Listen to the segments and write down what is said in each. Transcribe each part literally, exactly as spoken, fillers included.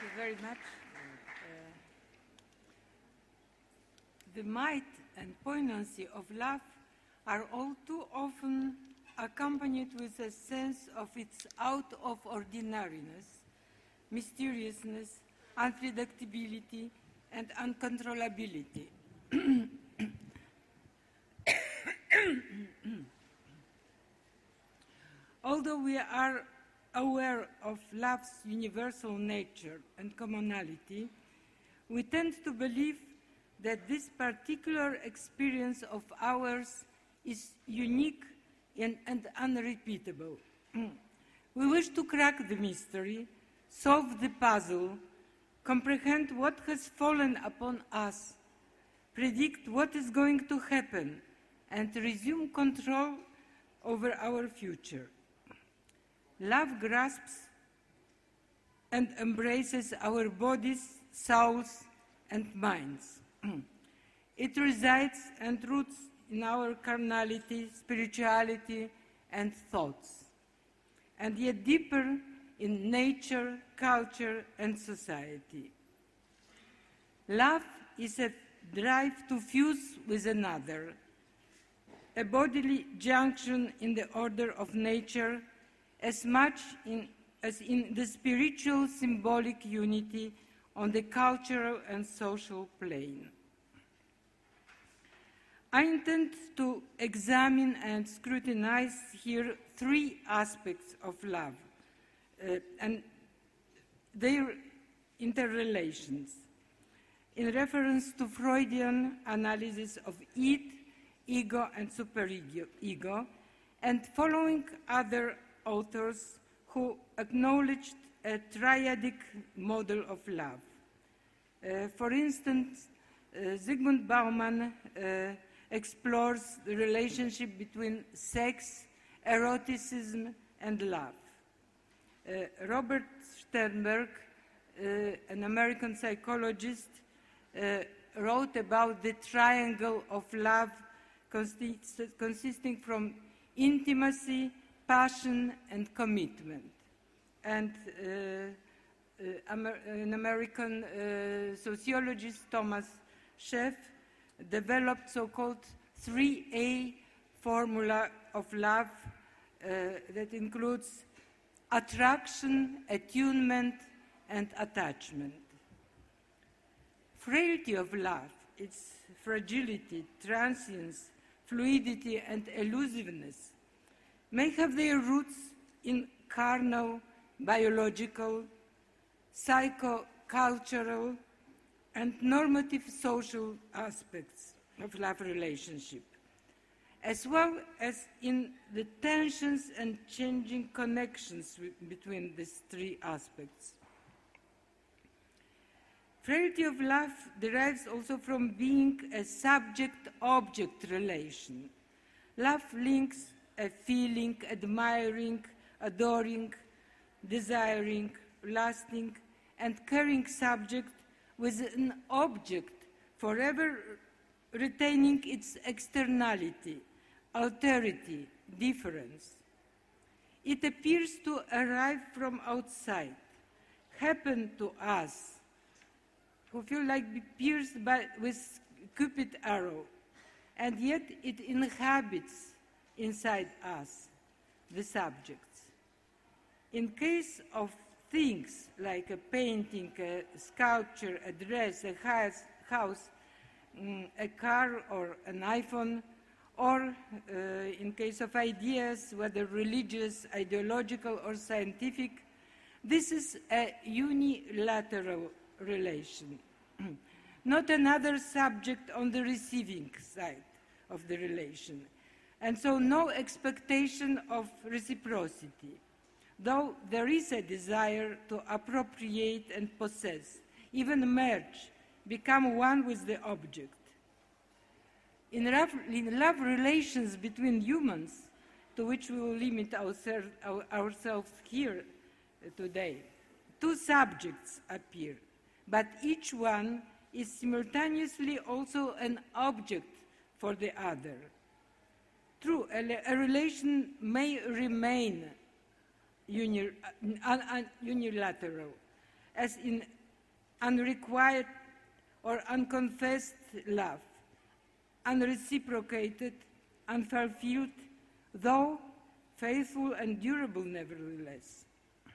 you very much. Uh, the might and poignancy of love are all too often accompanied with a sense of its out of ordinariness, mysteriousness, unpredictability, and uncontrollability. Although we are aware of love's universal nature and commonality, we tend to believe that this particular experience of ours is unique and, and unrepeatable. We wish to crack the mystery, solve the puzzle, comprehend what has fallen upon us, predict what is going to happen, and resume control over our future. Love grasps and embraces our bodies, souls, and minds. It resides and roots in our carnality, spirituality, and thoughts, and yet deeper in nature, culture, and society. Love is a drive to fuse with another, a bodily junction in the order of nature, as much in, as in the spiritual symbolic unity on the cultural and social plane. I intend to examine and scrutinize here three aspects of love uh, and their interrelations in reference to Freudian analysis of id, ego, and superego, and following other authors who acknowledged a triadic model of love. Uh, for instance, uh, Zygmunt Bauman uh, explores the relationship between sex, eroticism, and love. Uh, Robert Sternberg, uh, an American psychologist, uh, wrote about the triangle of love consist consisting from intimacy, passion, and commitment. And uh, uh, Amer an American uh, sociologist, Thomas Scheff, developed so-called three A formula of love uh, that includes attraction, attunement, and attachment. Frailty of love, its fragility, transience, fluidity, and elusiveness may have their roots in carnal, biological, psycho-cultural, and normative social aspects of love relationship, as well as in the tensions and changing connections between these three aspects. Frailty of love derives also from being a subject-object relation. Love links a feeling, admiring, adoring, desiring, lasting, and caring subject with an object forever retaining its externality, alterity, difference. It appears to arrive from outside, happen to us, who feel like be pierced by, with Cupid's arrow, and yet it inhabits inside us, the subjects. In case of things like a painting, a sculpture, a dress, a house, house mm, a car or an iPhone, or uh, in case of ideas, whether religious, ideological, or scientific, this is a unilateral relation, not another subject on the receiving side of the relation, and so no expectation of reciprocity, though there is a desire to appropriate and possess, even merge, become one with the object. In love, in love relations between humans, to which we will limit ourselves, our, ourselves here today, two subjects appear, but each one is simultaneously also an object for the other. True, a, a relation may remain uni, un, un, unilateral, as in unrequited or unconfessed love, unreciprocated, unfulfilled, though faithful and durable nevertheless.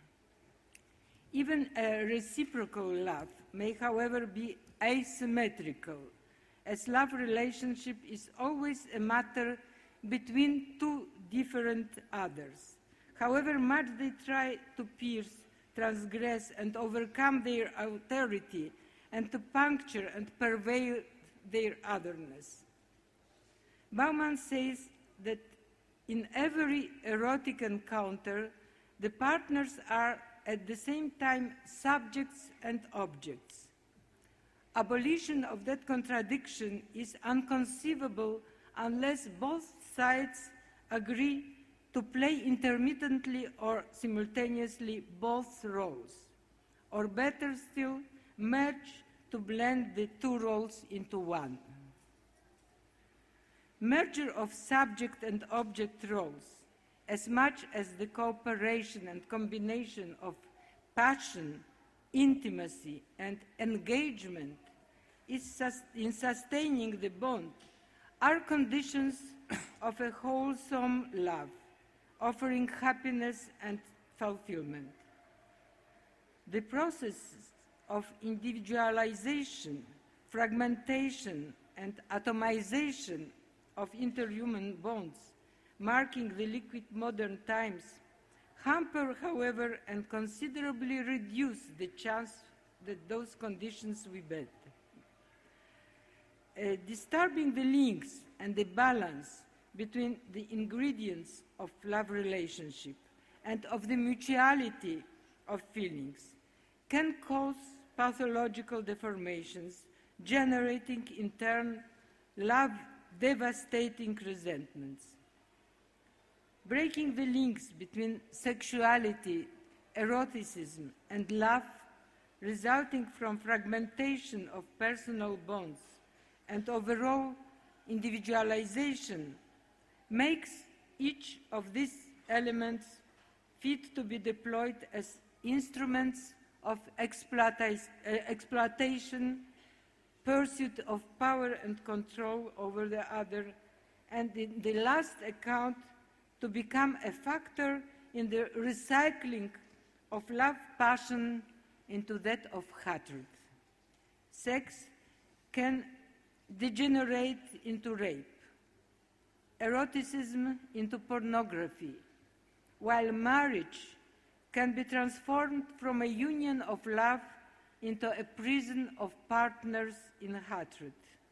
Even a reciprocal love may, however, be asymmetrical, as love relationship is always a matter between two different others. However much they try to pierce, transgress, and overcome their authority, and to puncture and pervade their otherness. Bauman says that in every erotic encounter, the partners are at the same time subjects and objects. Abolition of that contradiction is inconceivable unless both sides agree to play intermittently or simultaneously both roles, or better still, merge to blend the two roles into one. Merger of subject and object roles, as much as the cooperation and combination of passion, intimacy, and engagement is sus- in sustaining the bond, are conditions of a wholesome love, offering happiness and fulfillment. The process of individualization, fragmentation, and atomization of interhuman bonds, marking the liquid modern times, hamper, however, and considerably reduce the chance that those conditions will be met. Uh, disturbing the links and the balance between the ingredients of love relationship and of the mutuality of feelings can cause pathological deformations, generating in turn love devastating resentments. Breaking the links between sexuality, eroticism, and love, resulting from fragmentation of personal bonds and overall individualization, makes each of these elements fit to be deployed as instruments of exploita- uh, exploitation, pursuit of power and control over the other, and in the last account, to become a factor in the recycling of love passion into that of hatred. Sex can degenerate into rape, eroticism into pornography, while marriage can be transformed from a union of love into a prison of partners in hatred.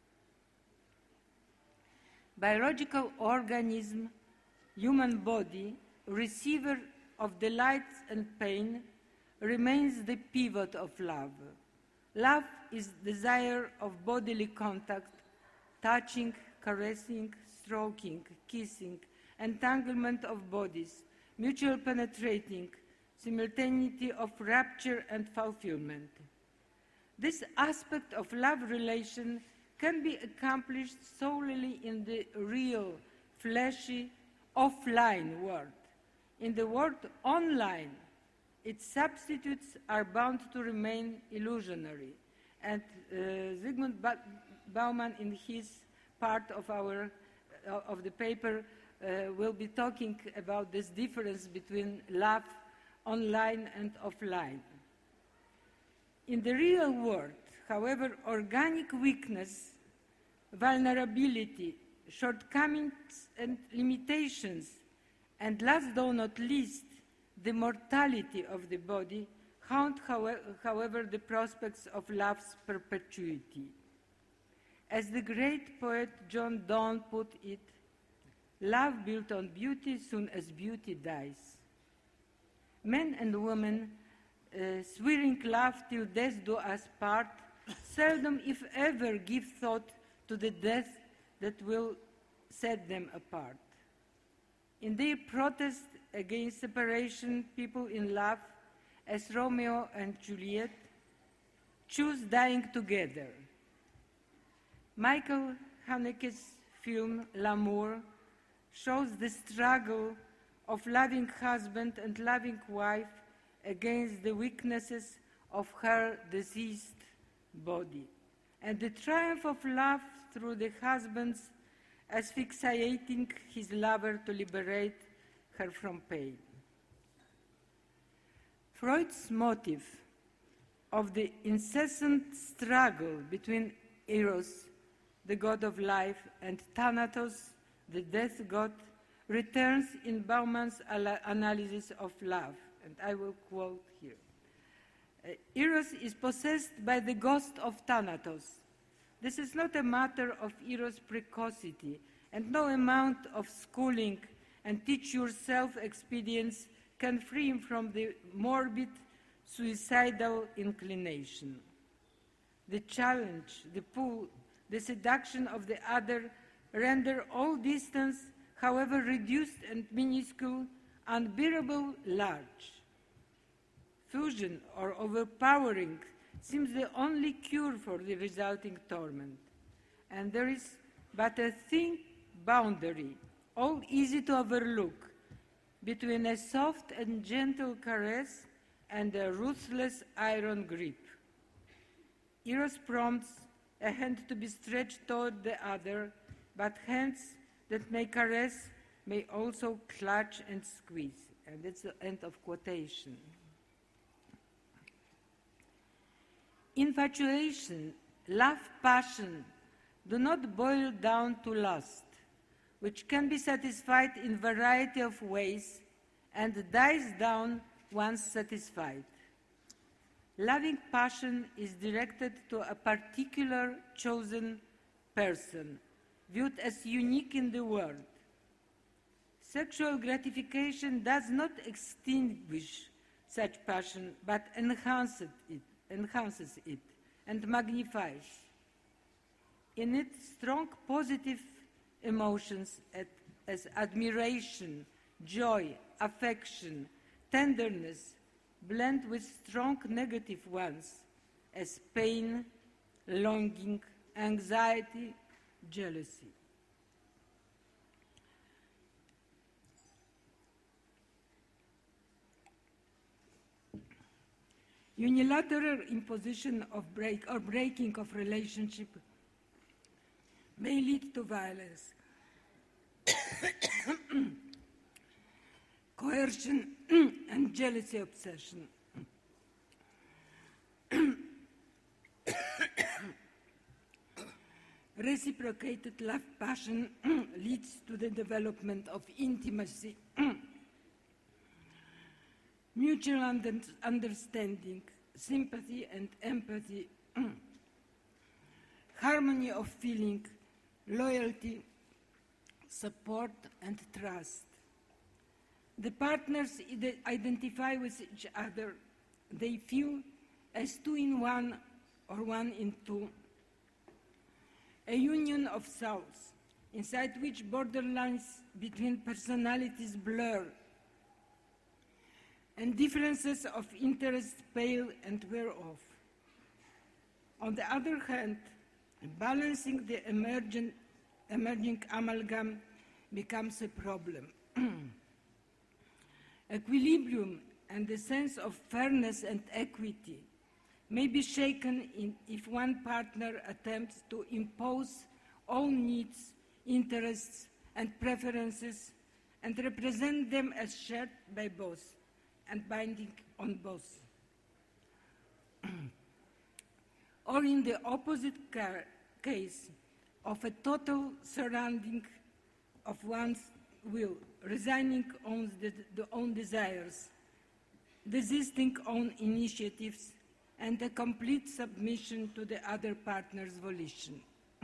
Biological organism, human body, receiver of delight and pain, remains the pivot of love. Love is desire of bodily contact, touching, caressing, stroking, kissing, entanglement of bodies, mutual penetrating, simultaneity of rapture and fulfillment. This aspect of love relation can be accomplished solely in the real, fleshy, offline world. In the world online, its substitutes are bound to remain illusionary. And uh, Zygmunt ba- Bauman, in his part of, our, uh, of the paper, uh, will be talking about this difference between love online and offline. In the real world, however, organic weakness, vulnerability, shortcomings and limitations, and last though not least, the mortality of the body, haunt, however, the prospects of love's perpetuity. As the great poet John Donne put it, love built on beauty soon as beauty dies. Men and women, uh, swearing love till death do us part, seldom, if ever, give thought to the death that will set them apart. In their protest against separation, people in love, as Romeo and Juliet, choose dying together. Michael Haneke's film L'Amour shows the struggle of loving husband and loving wife against the weaknesses of her deceased body, and the triumph of love through the husband's asphyxiating his lover to liberate her from pain. Freud's motive of the incessant struggle between Eros, the god of life, and Thanatos, the death god, returns in Baumann's analysis of love, and I will quote here. Uh, Eros is possessed by the ghost of Thanatos. This is not a matter of Eros' precocity, and no amount of schooling and teach-yourself experience can free him from the morbid, suicidal inclination. The challenge, the pull, the seduction of the other render all distance, however reduced and minuscule, unbearable large. Fusion or overpowering seems the only cure for the resulting torment, and there is but a thin boundary, all easy to overlook, between a soft and gentle caress and a ruthless iron grip. Eros prompts a hand to be stretched toward the other, but hands that may caress may also clutch and squeeze. And that's the end of quotation. Infatuation, love, passion do not boil down to lust, which can be satisfied in a variety of ways and dies down once satisfied. Loving passion is directed to a particular chosen person, viewed as unique in the world. Sexual gratification does not extinguish such passion, but enhances it, enhances it and magnifies. In it, strong positive emotions as admiration, joy, affection, tenderness blend with strong negative ones as pain, longing, anxiety, jealousy. Unilateral imposition of break or breaking of relationship may lead to violence, coercion, and jealousy obsession. Reciprocated love passion leads to the development of intimacy, mutual under understanding, sympathy and empathy, harmony of feeling, loyalty, support and trust. The partners identify with each other. They feel as two in one or one in two, a union of souls, inside which borderlines between personalities blur and differences of interest pale and wear off. On the other hand, balancing the emergent, emerging amalgam becomes a problem. Equilibrium and the sense of fairness and equity may be shaken in if one partner attempts to impose all needs, interests, and preferences and represent them as shared by both and binding on both. Or in the opposite case of a total surrounding of one's will, resigning on the, the own desires, desisting on initiatives, and a complete submission to the other partner's volition.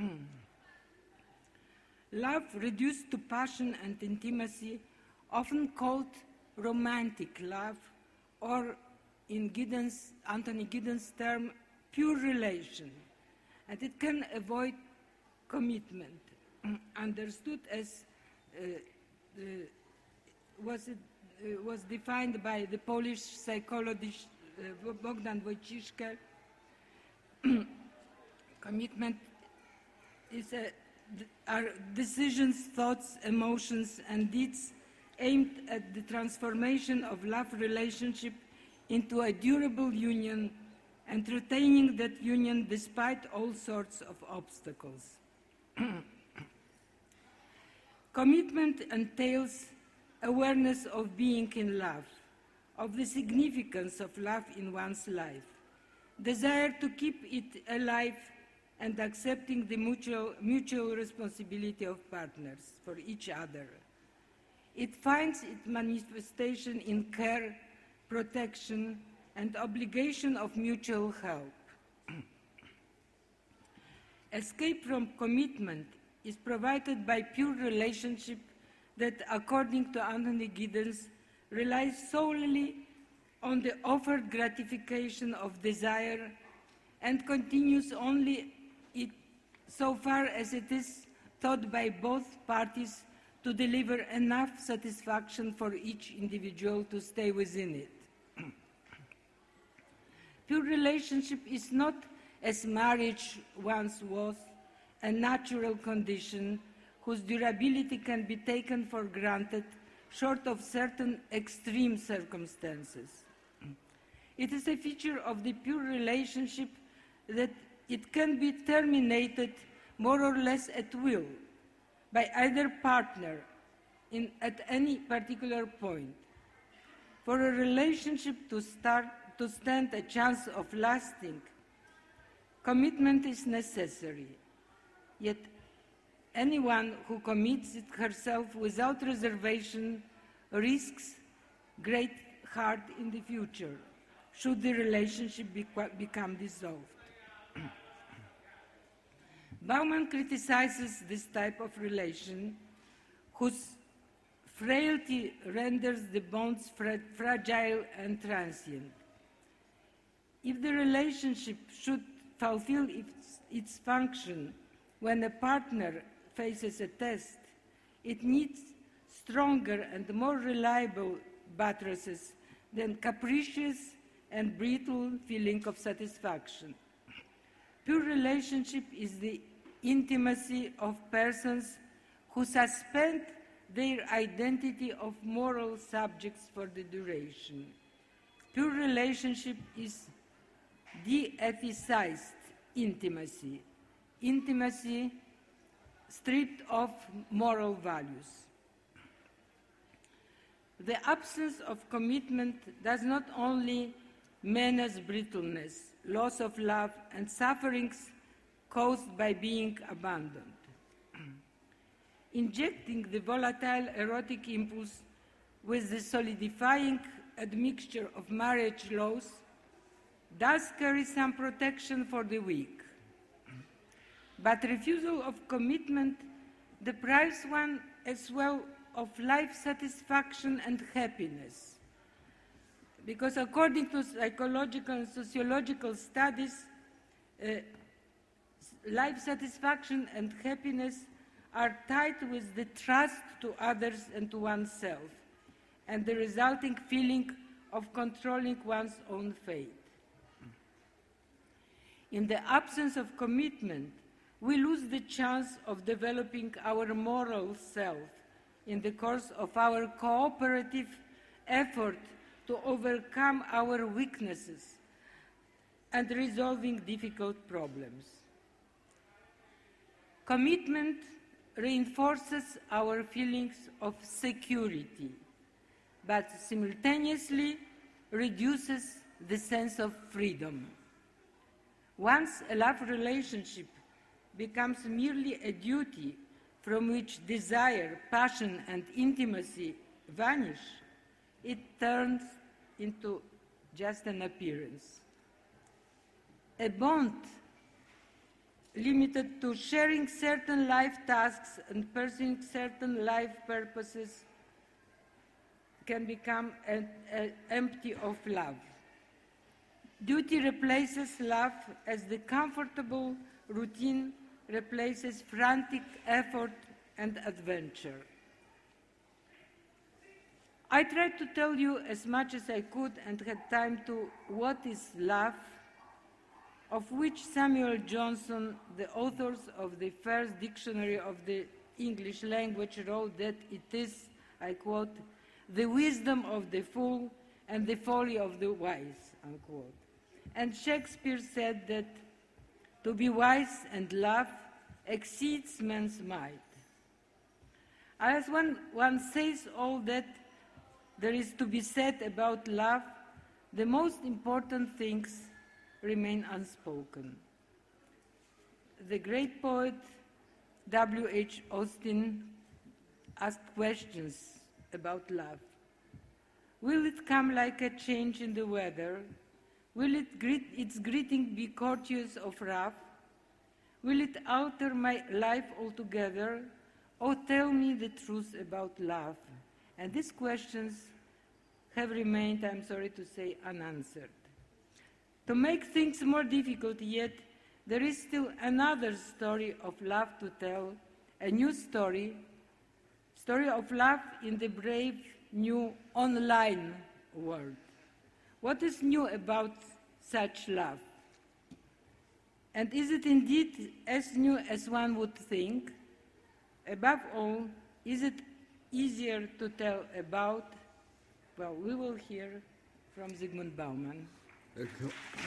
Love reduced to passion and intimacy, often called romantic love, or in Giddens, Anthony Giddens' term, pure relation, and it can avoid commitment, understood as uh, uh, was, it, uh, was defined by the Polish psychologist uh, Bogdan Wojciszka. Commitment is a, are decisions, thoughts, emotions, and deeds aimed at the transformation of love relationship into a durable union and retaining that union despite all sorts of obstacles. Commitment entails awareness of being in love, of the significance of love in one's life, desire to keep it alive, and accepting the mutual, mutual responsibility of partners for each other. It finds its manifestation in care, protection, and obligation of mutual help. Escape from commitment is provided by pure relationship that, according to Anthony Giddens, relies solely on the offered gratification of desire and continues only it, so far as it is thought by both parties to deliver enough satisfaction for each individual to stay within it. Pure relationship is not, as marriage once was, a natural condition whose durability can be taken for granted short of certain extreme circumstances. It is a feature of the pure relationship that it can be terminated more or less at will by either partner in, at any particular point. For a relationship to, start, to stand a chance of lasting, commitment is necessary. Yet anyone who commits it herself without reservation risks great hurt in the future, should the relationship be, become dissolved. Bauman criticizes this type of relation, whose frailty renders the bonds fra fragile and transient. If the relationship should fulfill its, its function when a partner faces a test, it needs stronger and more reliable buttresses than capricious and brittle feeling of satisfaction. Pure relationship is the intimacy of persons who suspend their identity of moral subjects for the duration. Pure relationship is de-ethicized intimacy, intimacy stripped of moral values. The absence of commitment does not only menace brittleness, loss of love, and sufferings caused by being abandoned. Injecting the volatile erotic impulse with the solidifying admixture of marriage laws does carry some protection for the weak. But refusal of commitment deprives one as well of life satisfaction and happiness. Because according to psychological and sociological studies, uh, life satisfaction and happiness are tied with the trust to others and to oneself, and the resulting feeling of controlling one's own fate. In the absence of commitment, we lose the chance of developing our moral self in the course of our cooperative effort to overcome our weaknesses and resolving difficult problems. Commitment reinforces our feelings of security, but simultaneously reduces the sense of freedom. Once a love relationship becomes merely a duty from which desire, passion, and intimacy vanish, it turns into just an appearance. A bond limited to sharing certain life tasks and pursuing certain life purposes can become a, a empty of love. Duty replaces love as the comfortable routine replaces frantic effort and adventure. I tried to tell you as much as I could and had time to what is love, of which Samuel Johnson, the author of the first dictionary of the English language, wrote that it is, I quote, the wisdom of the fool and the folly of the wise, unquote. And Shakespeare said that to be wise and love exceeds man's might. As one, one says all that there is to be said about love, the most important things remain unspoken. The great poet W H Austin asked questions about love. Will it come like a change in the weather? Will it greet, its greeting be courteous or rough? Will it alter my life altogether? Or tell me the truth about love? And these questions have remained, I'm sorry to say, unanswered. To make things more difficult yet, there is still another story of love to tell, a new story, story of love in the brave new online world. What is new about such love? And is it indeed as new as one would think? Above all, is it easier to tell about? Well, we will hear from Zygmunt Bauman. Thank you.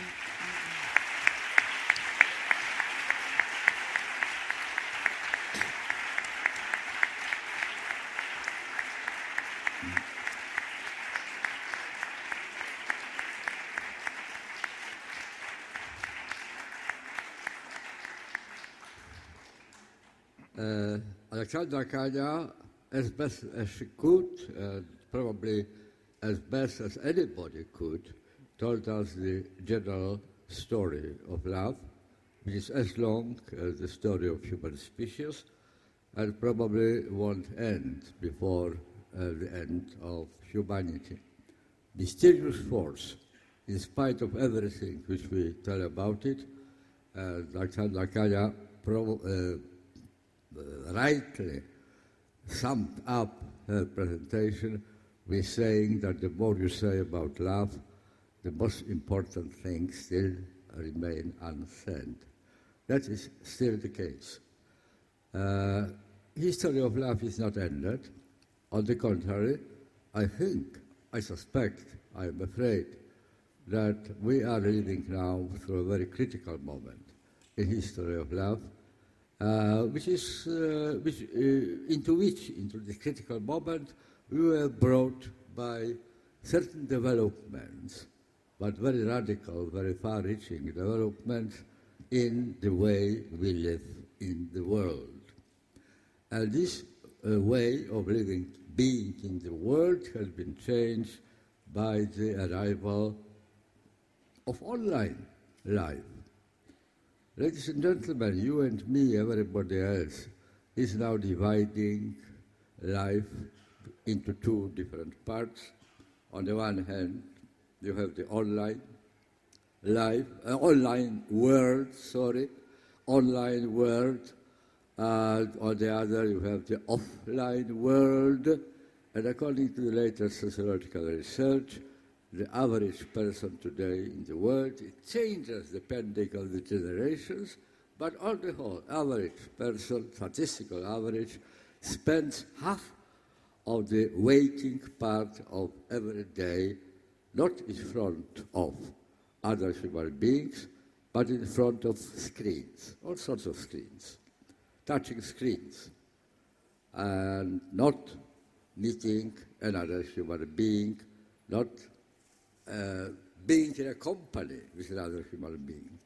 Uh, Alexandra Kanya, as best as she could, uh, probably as best as anybody could, told us the general story of love, which is as long as the story of human species, and probably won't end before uh, the end of humanity. Mysterious force, in spite of everything which we tell about it, uh, Alexandra Kanya pro- uh, Uh, rightly summed up her presentation with saying that the more you say about love, the most important things still remain unsaid. That is still the case. Uh, history of love is not ended. On the contrary, I think, I suspect, I am afraid, that we are living now through a very critical moment in history of love, Uh, which is uh, which, uh, into which, into the critical moment, we were brought by certain developments, but very radical, very far-reaching developments in the way we live in the world. And this uh, way of living, being in the world, has been changed by the arrival of online life. Ladies and gentlemen, you and me, everybody else, is now dividing life into two different parts. On the one hand, you have the online life, uh, online world, sorry, online world. Uh, on the other, you have the offline world. And according to the latest sociological research, the average person today in the world, it changes depending on the generations, but on the whole, average person, statistical average, spends half of the waking part of every day not in front of other human beings, but in front of screens, all sorts of screens, touching screens, and not meeting another human being, not Uh, being in a company with another human being.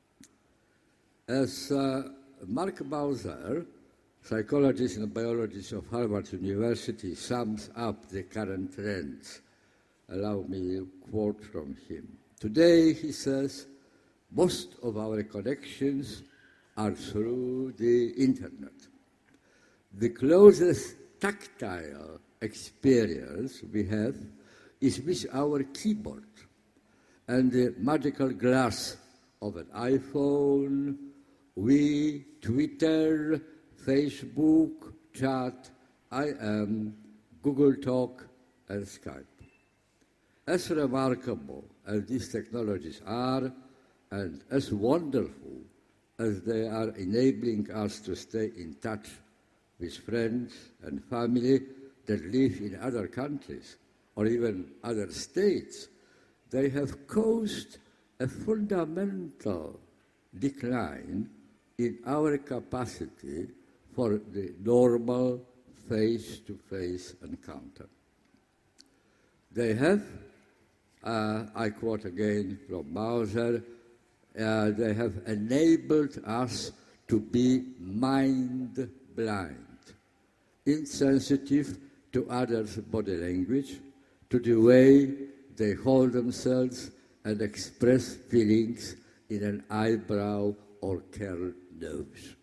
As uh, Mark Bowser, psychologist and biologist of Harvard University, sums up the current trends, allow me a quote from him. Today, he says, most of our connections are through the internet. The closest tactile experience we have is with our keyboard and the magical glass of an iPhone, we, Twitter, Facebook, chat, I M, Google Talk, and Skype. As remarkable as these technologies are, and as wonderful as they are enabling us to stay in touch with friends and family that live in other countries, or even other states, they have caused a fundamental decline in our capacity for the normal face-to-face encounter. They have, uh, I quote again from Mauser, uh, they have enabled us to be mind blind, insensitive to others' body language, to the way they hold themselves and express feelings in an eyebrow or curled nose.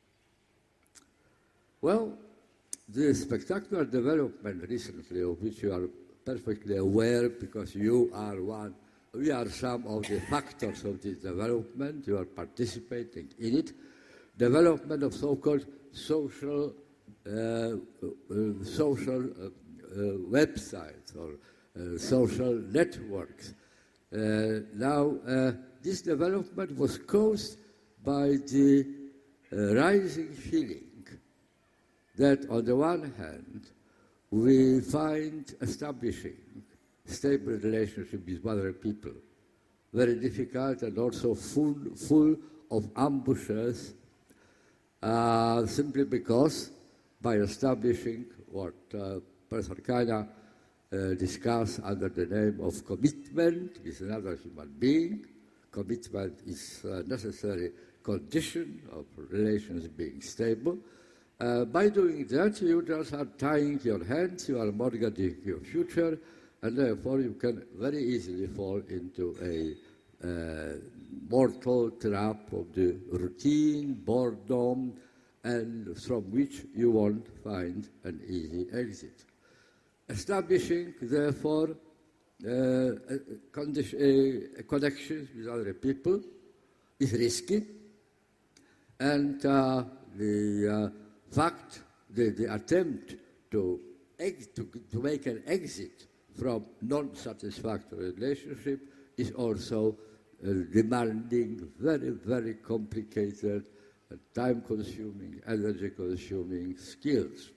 Well, the spectacular development recently, of which you are perfectly aware because you are one, we are some of the factors of this development, you are participating in it, development of so-called social, uh, uh, social uh, uh, websites or uh, social networks. Uh, now, uh, this development was caused by the uh, rising feeling that on the one hand, we find establishing stable relationship with other people very difficult and also full, full of ambushes, uh, simply because by establishing what uh, Professor Kana uh, discussed under the name of commitment with another human being. Commitment is a necessary condition of relations being stable. Uh, by doing that, you just are tying your hands, you are mortgaging your future, and therefore you can very easily fall into a uh, mortal trap of the routine, boredom, and from which you won't find an easy exit. Establishing, therefore, uh, a, condition, a connection with other people is risky, and uh, the uh, fact, the, the attempt to, ex to, to make an exit from non-satisfactory relationship is also uh, demanding very, very complicated, uh, time-consuming, energy-consuming skills.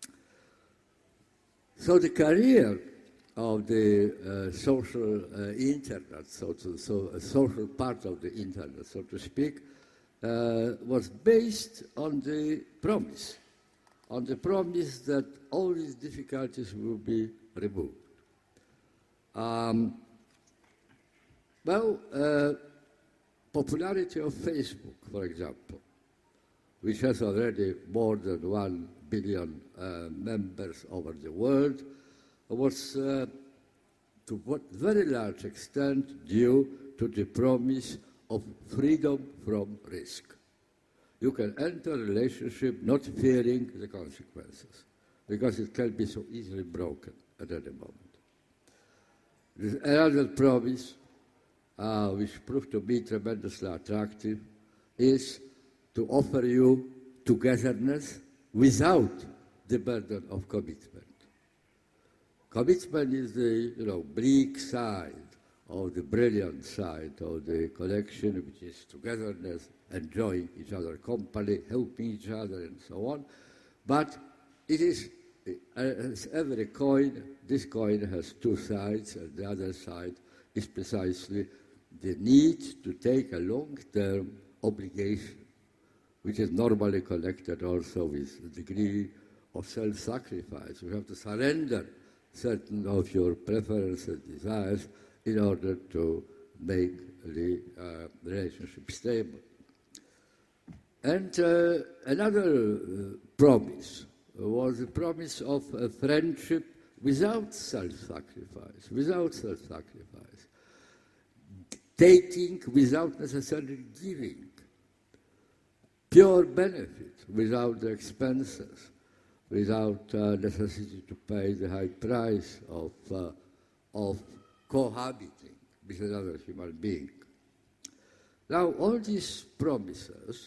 So the career of the uh, social uh, internet, so, to, so a social part of the internet, so to speak, Uh, was based on the promise, on the promise that all these difficulties will be removed. Um, well, uh, popularity of Facebook, for example, which has already more than one billion uh, members over the world, was uh, to what very large extent due to the promise of freedom from risk. You can enter a relationship not fearing the consequences, because it can be so easily broken at any moment. There's another promise, uh, which proved to be tremendously attractive, is to offer you togetherness without the burden of commitment. Commitment is the, you know, bleak side of the brilliant side of the collection, which is togetherness, enjoying each other's company, helping each other, and so on. But it is, as every coin, this coin has two sides, and the other side is precisely the need to take a long-term obligation, which is normally connected also with a degree of self-sacrifice. You have to surrender certain of your preferences, desires, in order to make the uh, relationship stable. And uh, another uh, promise was the promise of a friendship without self-sacrifice, without self-sacrifice, taking without necessarily giving, pure benefit without the expenses, without uh, necessity to pay the high price of, uh, of cohabiting with another human being. Now, all these promises,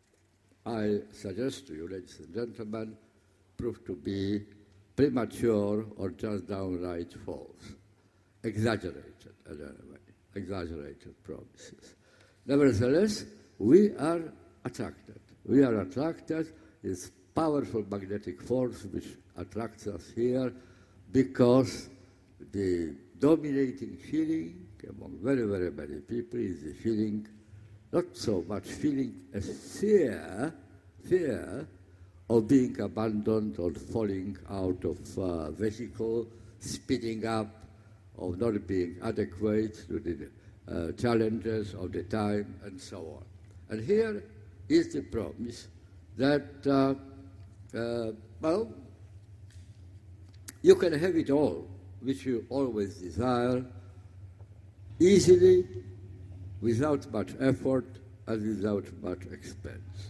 I suggest to you, ladies and gentlemen, prove to be premature or just downright false, exaggerated, anyway, exaggerated promises. Nevertheless, we are attracted. We are attracted. It's powerful magnetic force which attracts us here because the dominating feeling among very, very many people is the feeling, not so much feeling as fear, fear of being abandoned or falling out of uh, vehicle, speeding up, of not being adequate to the uh, challenges of the time, and so on. And here is the promise that, uh, uh, well, you can have it all, which you always desire, easily, without much effort, and without much expense.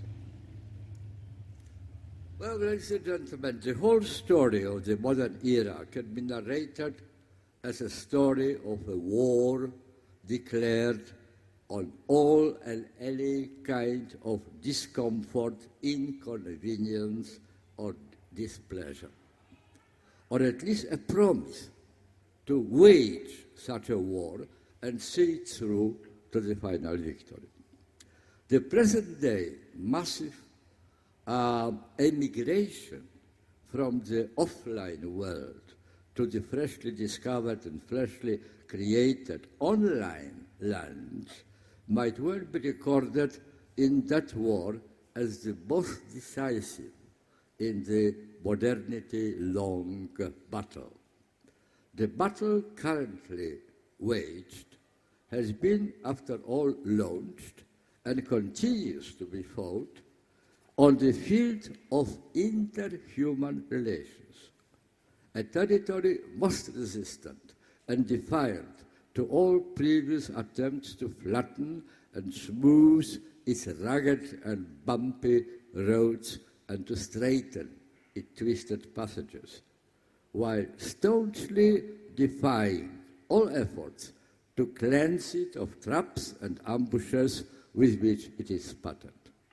Well, ladies and gentlemen, the whole story of the modern era can be narrated as a story of a war declared on all and any kind of discomfort, inconvenience, or displeasure, or at least a promise to wage such a war and see it through to the final victory. The present-day massive uh, emigration from the offline world to the freshly discovered and freshly created online land might well be recorded in that war as the most decisive in the modernity-long battle. The battle currently waged has been, after all, launched and continues to be fought on the field of interhuman relations, a territory most resistant and defiant to all previous attempts to flatten and smooth its rugged and bumpy roads and to straighten its twisted passages, while staunchly defying all efforts to cleanse it of traps and ambushes with which it is spattered.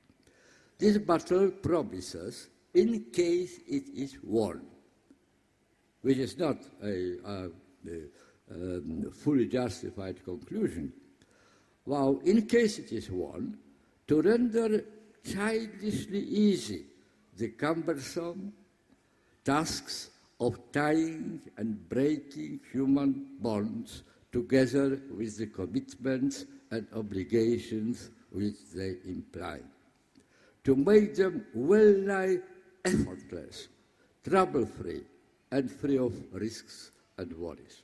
This battle promises, in case it is won, which is not a, a, a um, fully justified conclusion, while in case it is won, to render childishly easy the cumbersome tasks of tying and breaking human bonds together with the commitments and obligations which they imply, to make them well-nigh effortless, trouble-free, and free of risks and worries.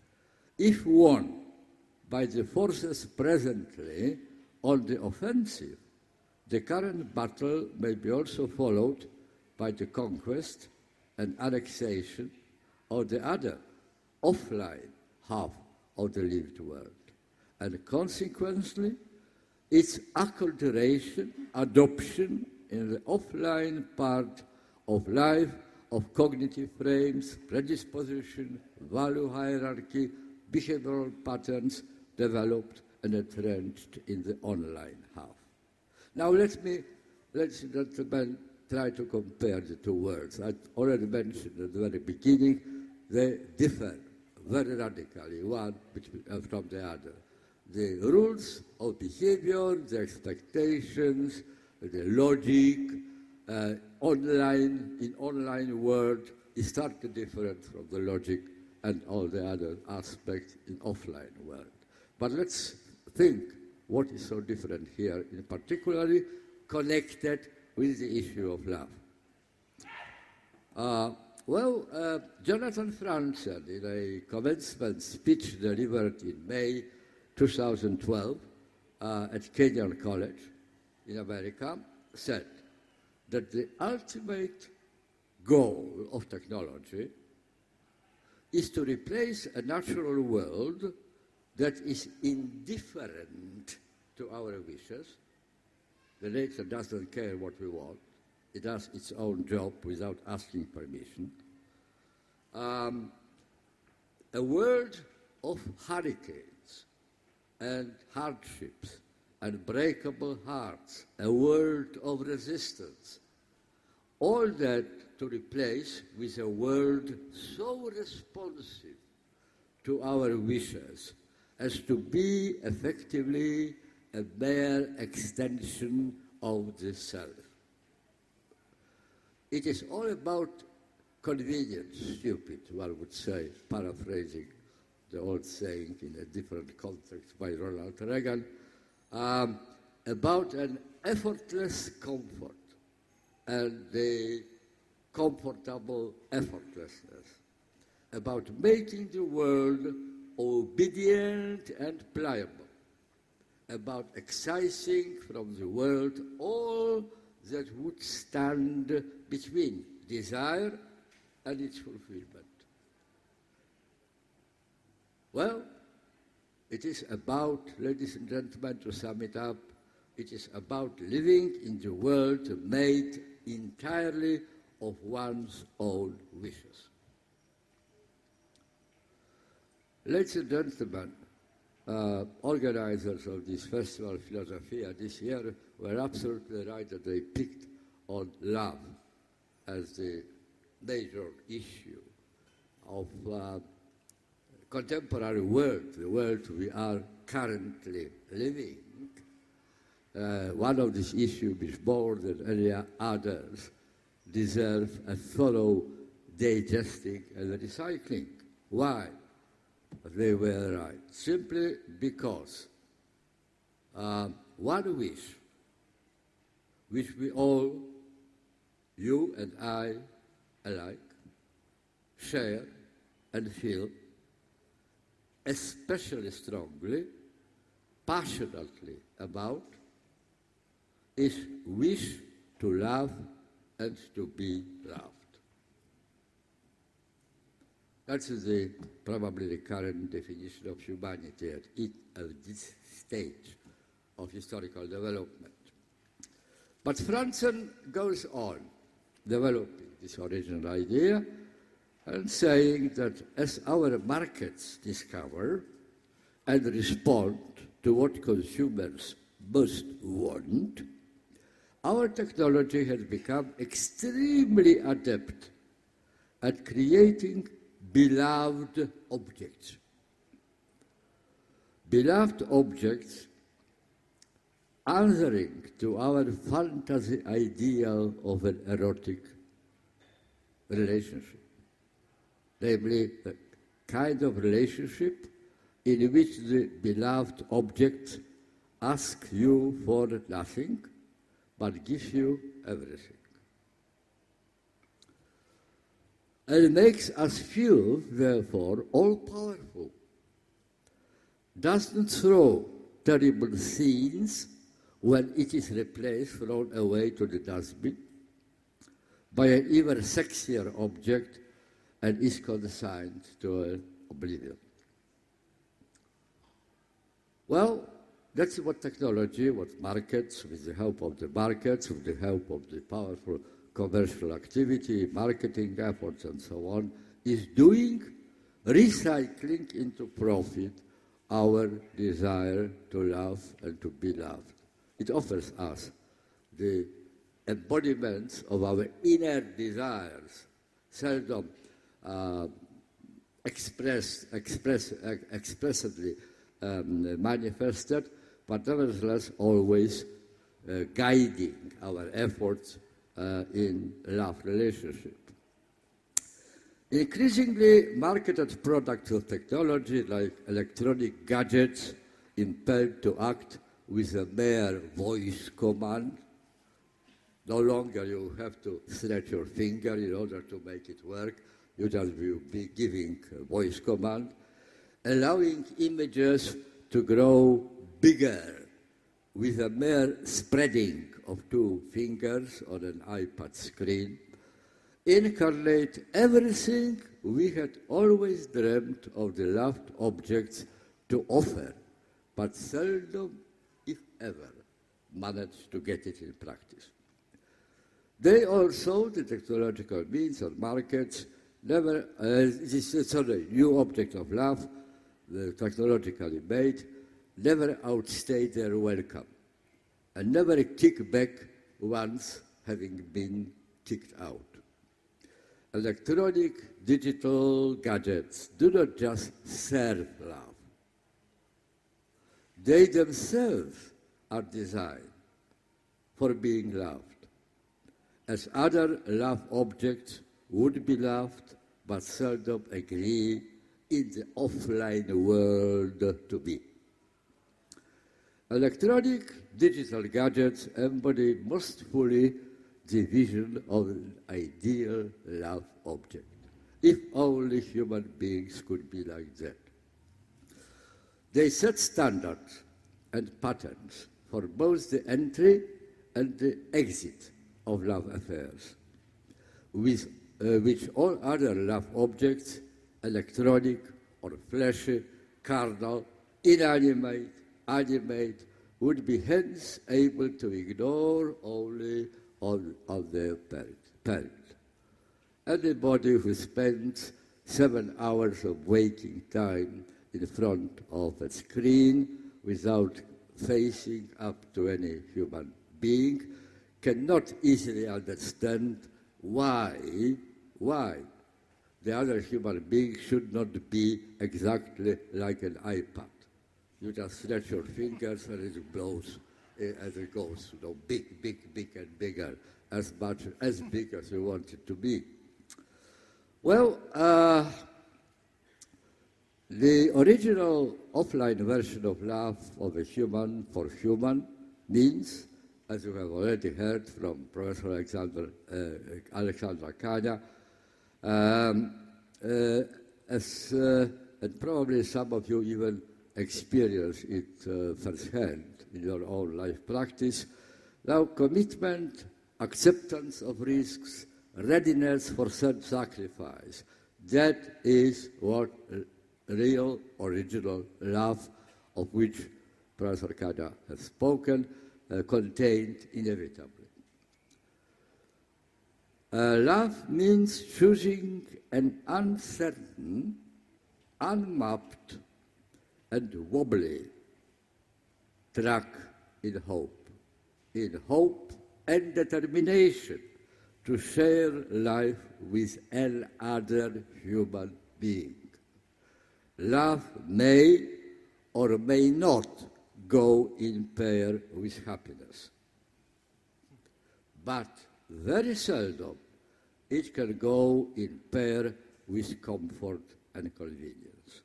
If won by the forces presently on the offensive, the current battle may be also followed by the conquest and annexation of the other offline half of the lived world, and consequently its acculturation, adoption in the offline part of life of cognitive frames, predisposition, value hierarchy, behavioral patterns developed and entrenched in the online half. Now let me, let's gentlemen, try to compare the two worlds. I already mentioned at the very beginning, they differ very radically, one from the other. The rules of behavior, the expectations, the logic, uh, online, in online world is starkly different from the logic and all the other aspects in offline world. But let's think what is so different here, in particularly connected with the issue of love. Uh, well, uh, Jonathan Franzen, in a commencement speech delivered in May two thousand twelve uh, at Kenyon College in America, said that the ultimate goal of technology is to replace a natural world that is indifferent to our wishes. The nature doesn't care what we want. It does its own job without asking permission. Um, a world of hurricanes and hardships and breakable hearts, a world of resistance. All that to replace with a world so responsive to our wishes as to be effectively a mere extension of the self. It is all about convenience, stupid, one would say, paraphrasing the old saying in a different context by Ronald Reagan, um, about an effortless comfort and the comfortable effortlessness, about making the world obedient and pliable, about excising from the world all that would stand between desire and its fulfillment. Well, it is about, ladies and gentlemen, to sum it up, it is about living in the world made entirely of one's own wishes. Ladies and gentlemen, uh, organizers of this festival, Philosophia, this year were absolutely right that they picked on love as the major issue of uh, contemporary world, the world we are currently living. Uh, one of these issues, which more than any others, deserve a thorough digesting and recycling. Why? They were right. Simply because uh, one wish, which we all, you and I alike, share and feel, especially strongly, passionately about, is wish to love and to be loved. That's the, probably the current definition of humanity at, it, at this stage of historical development. But Franzen goes on developing this original idea and saying that as our markets discover and respond to what consumers most want, our technology has become extremely adept at creating beloved objects. Beloved objects answering to our fantasy ideal of an erotic relationship. Namely, a kind of relationship in which the beloved object asks you for nothing, but gives you everything. And makes us feel, therefore, all-powerful. Doesn't throw terrible scenes when it is replaced, thrown away to the dustbin, by an even sexier object and is consigned to oblivion. Well, that's what technology, what markets, with the help of the markets, with the help of the powerful commercial activity, marketing efforts, and so on, is doing, recycling into profit our desire to love and to be loved. It offers us the embodiments of our inner desires, seldom uh, expressed, express, uh, expressively um, manifested, but nevertheless always uh, guiding our efforts uh, in love relationship. Increasingly marketed products of technology like electronic gadgets impelled to act with a mere voice command. No longer you have to stretch your finger in order to make it work. You just will be giving a voice command, allowing images to grow bigger with a mere spreading of two fingers on an iPad screen, incarnate everything we had always dreamt of the loved objects to offer, but seldom, if ever, managed to get it in practice. They also, the technological means and markets, never, uh, this is sorry, new object of love, the technologically made, never outstay their welcome, and never kick back once having been kicked out. Electronic, digital gadgets do not just serve love. They themselves are designed for being loved, as other love objects would be loved, but seldom agree in the offline world to be. Electronic digital gadgets embody most fully the vision of an ideal love object. If only human beings could be like that. They set standards and patterns for both the entry and the exit of love affairs, with uh, which all other love objects, electronic or fleshy, carnal, inanimate, animate, would be hence able to ignore only on, on their parent. Anybody who spends seven hours of waking time in front of a screen without facing up to any human being cannot easily understand why, why the other human being should not be exactly like an iPad. You just stretch your fingers and it blows uh, as it goes, you know, big, big, big and bigger, as much, as big as you want it to be. Well, uh, the original offline version of love of a human for human means, as you have already heard from Professor Alexander, uh, Alexandra Kania, um, uh, as, uh, and probably some of you even experience it uh, firsthand in your own life practice. Now, commitment, acceptance of risks, readiness for self-sacrifice, that is what real, original love, of which Professor Kania has spoken, uh, contained inevitably. Uh, love means choosing an uncertain, unmapped, and wobbly track in hope, in hope and determination to share life with another human being. Love may or may not go in pair with happiness, but very seldom it can go in pair with comfort and convenience.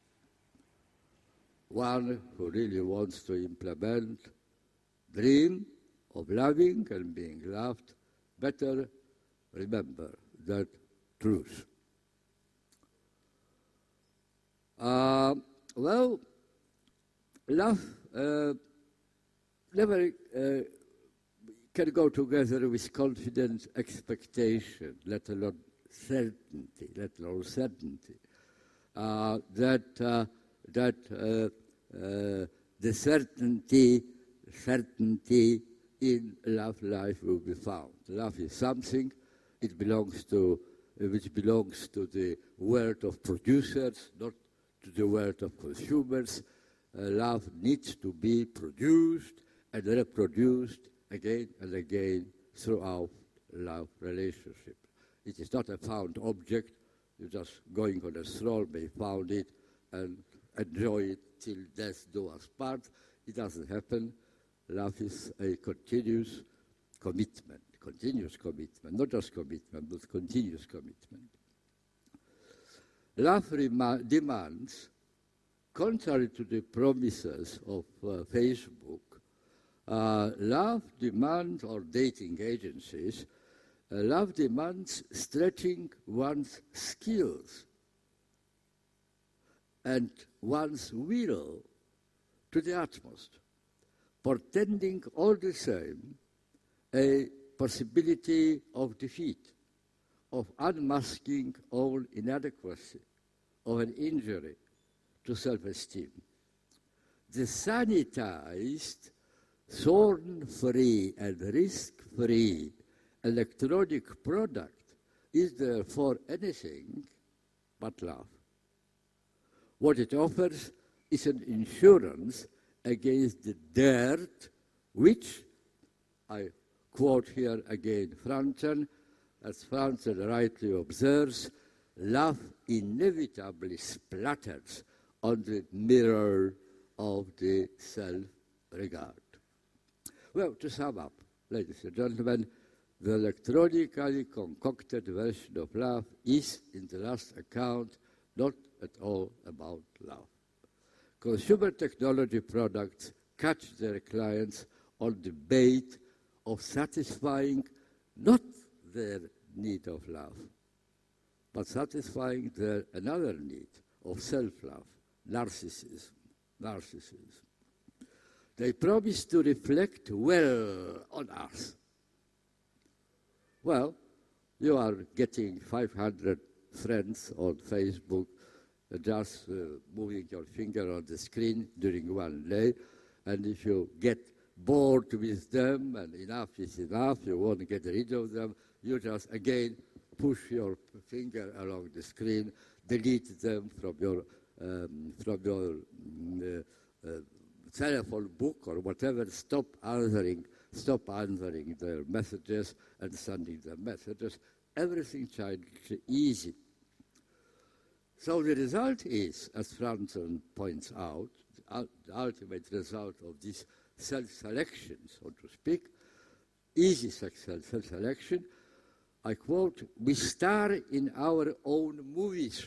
One who really wants to implement dream of loving and being loved better remember that truth. Uh, well, love uh, never uh, can go together with confident expectation, let alone certainty, let alone certainty. Uh, that uh, that uh, uh, the certainty, certainty in love life will be found. Love is something; it belongs to, uh, which belongs to the world of producers, not to the world of consumers. Uh, love needs to be produced and reproduced again and again throughout love relationship. It is not a found object. You just going on a stroll may found it and enjoy it till death do us part. It doesn't happen. Love is a continuous commitment, continuous commitment, not just commitment, but continuous commitment. Love rema- demands, contrary to the promises of uh, Facebook, uh, love demands, or dating agencies, uh, love demands stretching one's skills and one's will to the utmost, portending all the same a possibility of defeat, of unmasking all inadequacy, of an injury to self-esteem. The sanitized, thorn-free and risk-free electronic product is therefore anything but love. What it offers is an insurance against the dirt which, I quote here again Franzen, as Franzen rightly observes, love inevitably splatters on the mirror of the self-regard. Well, to sum up, ladies and gentlemen, the electronically concocted version of love is, in the last account, not at all about love. Consumer technology products catch their clients on the bait of satisfying not their need of love, but satisfying their another need of self-love, narcissism. narcissism. They promise to reflect well on us. Well, you are getting five hundred friends on Facebook, uh, just uh, moving your finger on the screen during one day, and if you get bored with them and enough is enough, you want to get rid of them, you just again push your finger along the screen, delete them from your um, from your mm, uh, uh, telephone book or whatever, stop answering, stop answering their messages and sending them messages. Everything childishly easy. So the result is, as Franzen points out, the, the ultimate result of this self-selection, so to speak, easy self-selection, I quote, we star in our own movies.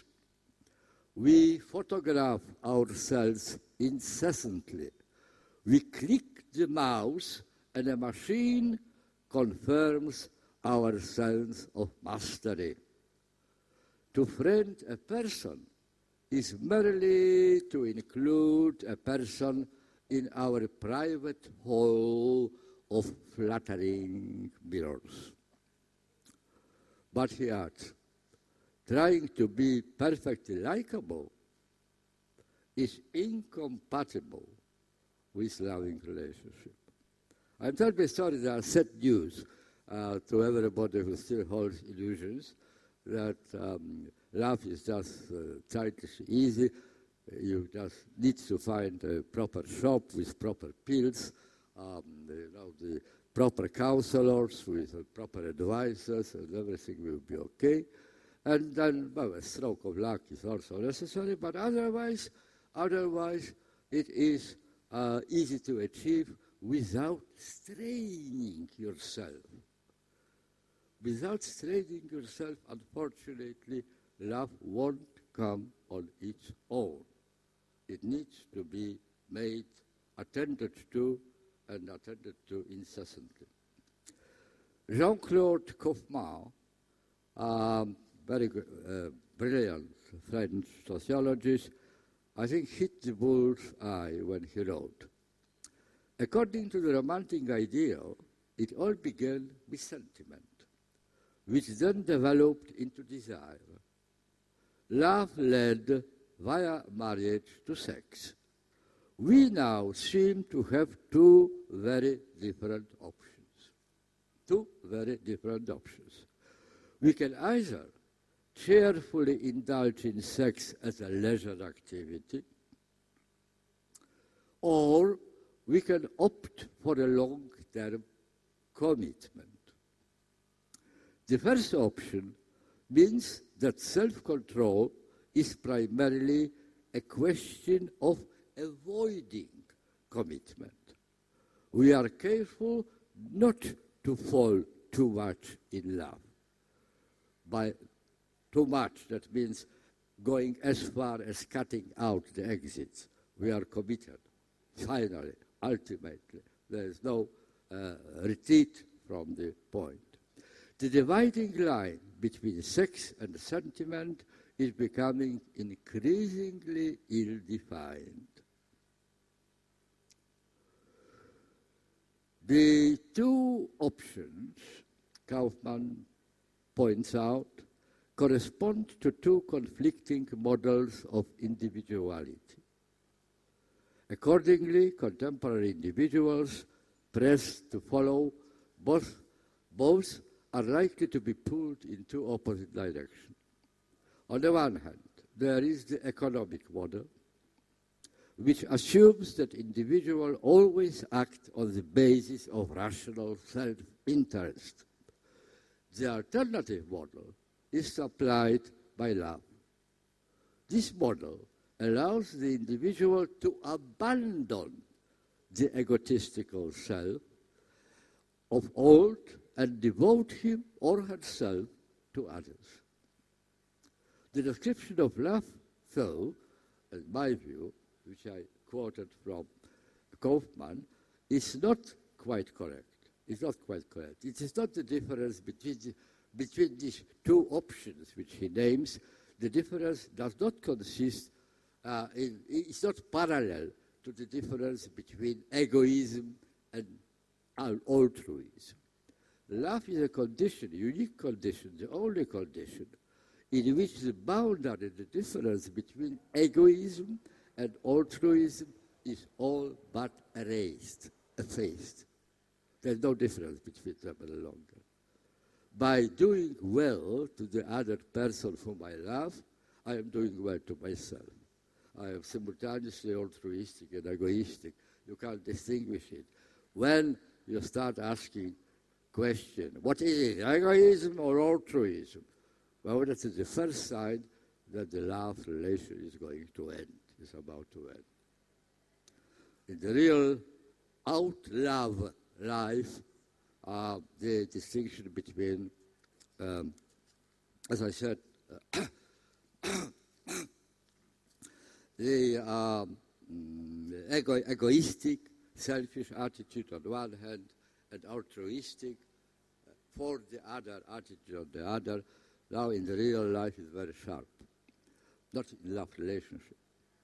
We photograph ourselves incessantly. We click the mouse and a machine confirms our sense of mastery. To friend a person is merely to include a person in our private hall of flattering mirrors. But he adds, trying to be perfectly likable is incompatible with loving relationship. I'm terribly sorry there are sad news uh, to everybody who still holds illusions that um, love is just uh, childish easy. You just need to find a proper shop with proper pills, um, you know, the proper counselors with uh, proper advisors, and everything will be okay. And then, well, a stroke of luck is also necessary, but otherwise, otherwise it is uh, easy to achieve without straining yourself. Without straining yourself, unfortunately, love won't come on its own. It needs to be made, attended to, and attended to incessantly. Jean-Claude Kaufmann, um, very uh, brilliant French sociologist, I think hit the bull's eye when he wrote, according to the romantic ideal, it all began with sentiment, which then developed into desire. Love led via marriage to sex. We now seem to have two very different options. Two very different options. We can either cheerfully indulge in sex as a leisure activity, or we can opt for a long-term commitment. The first option means that self-control is primarily a question of avoiding commitment. We are careful not to fall too much in love. By too much, that means going as far as cutting out the exits. We are committed. Finally, ultimately, there is no uh, retreat from the point. The dividing line between sex and sentiment is becoming increasingly ill-defined. The two options, Kaufmann points out, correspond to two conflicting models of individuality. Accordingly, contemporary individuals pressed to follow both, both are likely to be pulled in two opposite directions. On the one hand, there is the economic model, which assumes that individuals always act on the basis of rational self-interest. The alternative model is supplied by love. This model allows the individual to abandon the egotistical self of old and devote him or herself to others. The description of love So, in my view, which I quoted from Kaufman, is not quite correct. It's not quite correct. It is not the difference between, the, between these two options which he names. The difference does not consist, uh, in, it's not parallel to the difference between egoism and altruism. Love is a condition, a unique condition, the only condition in which the boundary, the difference between egoism and altruism is all but erased, effaced. There's no difference between them any longer. By doing well to the other person whom I love, I am doing well to myself. I am simultaneously altruistic and egoistic. You can't distinguish it. When you start asking question, what is it, egoism or altruism? Well, that is the first sign that the love relation is going to end, is about to end. In the real out-love life, uh, the distinction between, um, as I said, uh, the um, ego egoistic, selfish attitude on one hand, and altruistic, uh, for the other attitude on the other, now in the real life is very sharp, not in love relationship.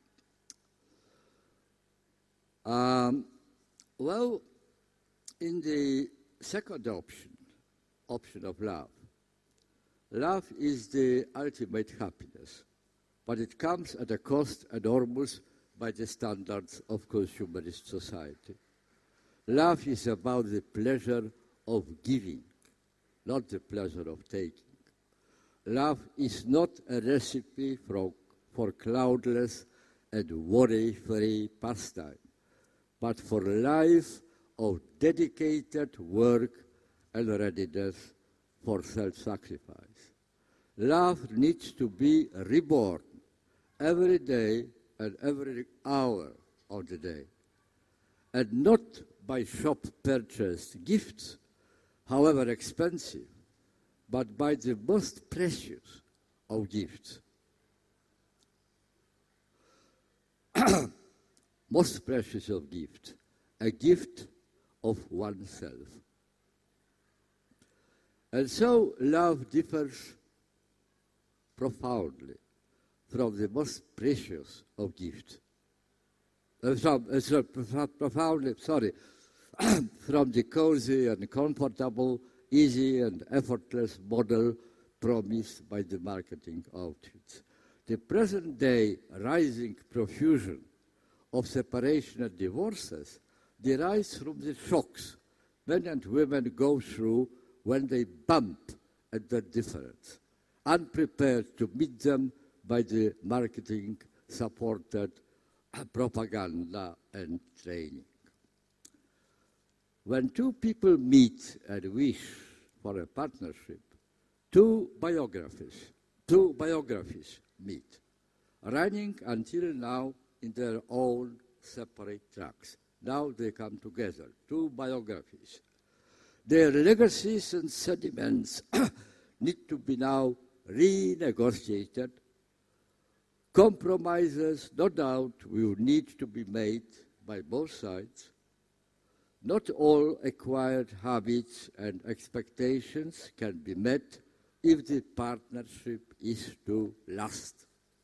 Um, well, in the second option, option of love, love is the ultimate happiness, but it comes at a cost enormous by the standards of consumerist society. Love is about the pleasure of giving, not the pleasure of taking. Love is not a recipe for, for cloudless and worry-free pastime, but for a life of dedicated work and readiness for self-sacrifice. Love needs to be reborn every day and every hour of the day, and not by shop-purchased gifts, however expensive, but by the most precious of gifts. Most precious of gifts, a gift of oneself. And so love differs profoundly from the most precious of gifts. Uh, from, uh, so profoundly, sorry, from the cozy and comfortable, easy and effortless model promised by the marketing outfits. The present-day rising profusion of separation and divorces derives from the shocks men and women go through when they bump at their difference, unprepared to meet them by the marketing-supported propaganda and training. When two people meet and wish for a partnership, two biographies, two biographies meet, running until now in their own separate tracks. Now they come together, two biographies. Their legacies and sentiments need to be now renegotiated. Compromises, no doubt, will need to be made by both sides. Not all acquired habits and expectations can be met if the partnership is to last.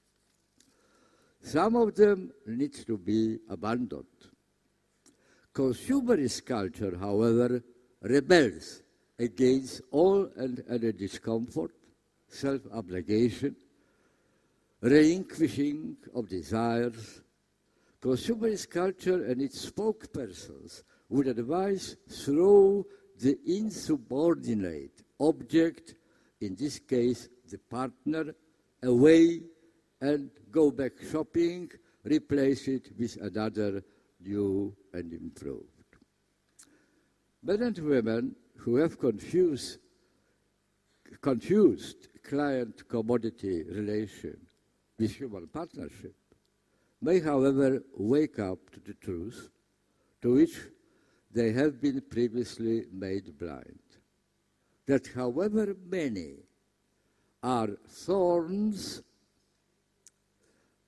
Some of them need to be abandoned. Consumerist culture, however, rebels against all and any discomfort, self-abnegation, relinquishing of desires. Consumerist culture and its spokespersons would advise throw the insubordinate object, in this case the partner, away and go back shopping, replace it with another new and improved. Men and women who have confused, confused client-commodity relation with human partnership may, however, wake up to the truth to which they have been previously made blind, that however many are thorns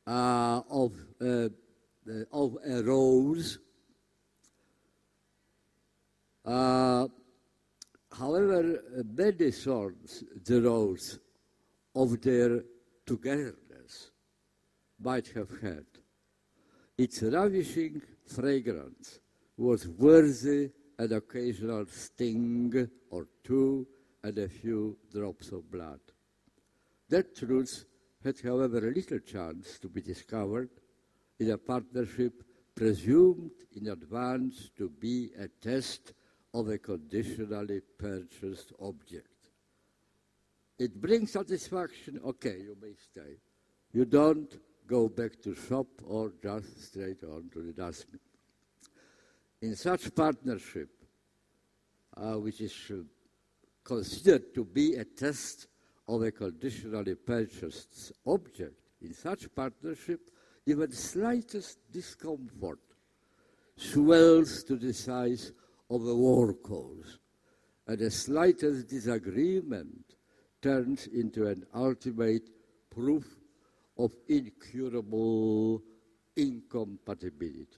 uh, of, uh, uh, of a rose. Uh, however, many songs, the rose of their togetherness might have had. Its ravishing fragrance was worthy an occasional sting or two and a few drops of blood. That truth had, however, little chance to be discovered in a partnership presumed in advance to be a test of a conditionally purchased object. It brings satisfaction, okay, you may stay. You don't go back to shop or just straight on to the dustbin. In such partnership, uh, which is uh, considered to be a test of a conditionally purchased object, in such partnership, even the slightest discomfort swells to the size of a war cause, and the slightest disagreement turns into an ultimate proof of incurable incompatibility.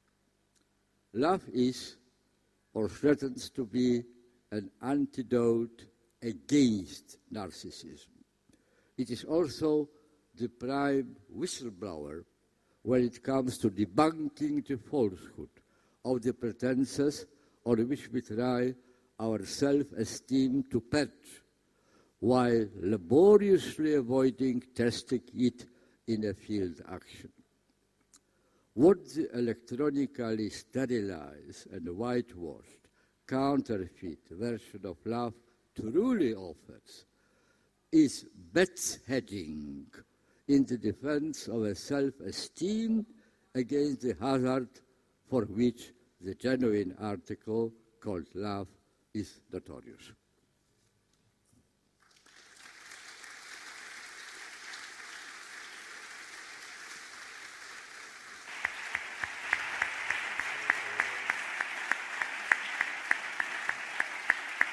Love is, or threatens to be, an antidote against narcissism. It is also the prime whistleblower when it comes to debunking the falsehood of the pretenses on which we try our self-esteem to perch, while laboriously avoiding testing it in a field action. What the electronically sterilized and whitewashed counterfeit version of love truly offers is bedheading in the defense of a self-esteem against the hazard for which the genuine article called love is notorious.